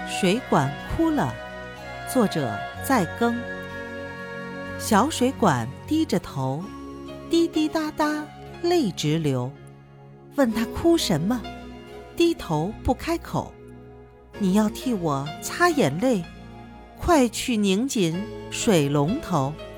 水管哭了，作者在耕。小水管低着头，滴滴答答泪直流。问他哭什么，低头不开口。你要替我擦眼泪，快去拧紧水龙头。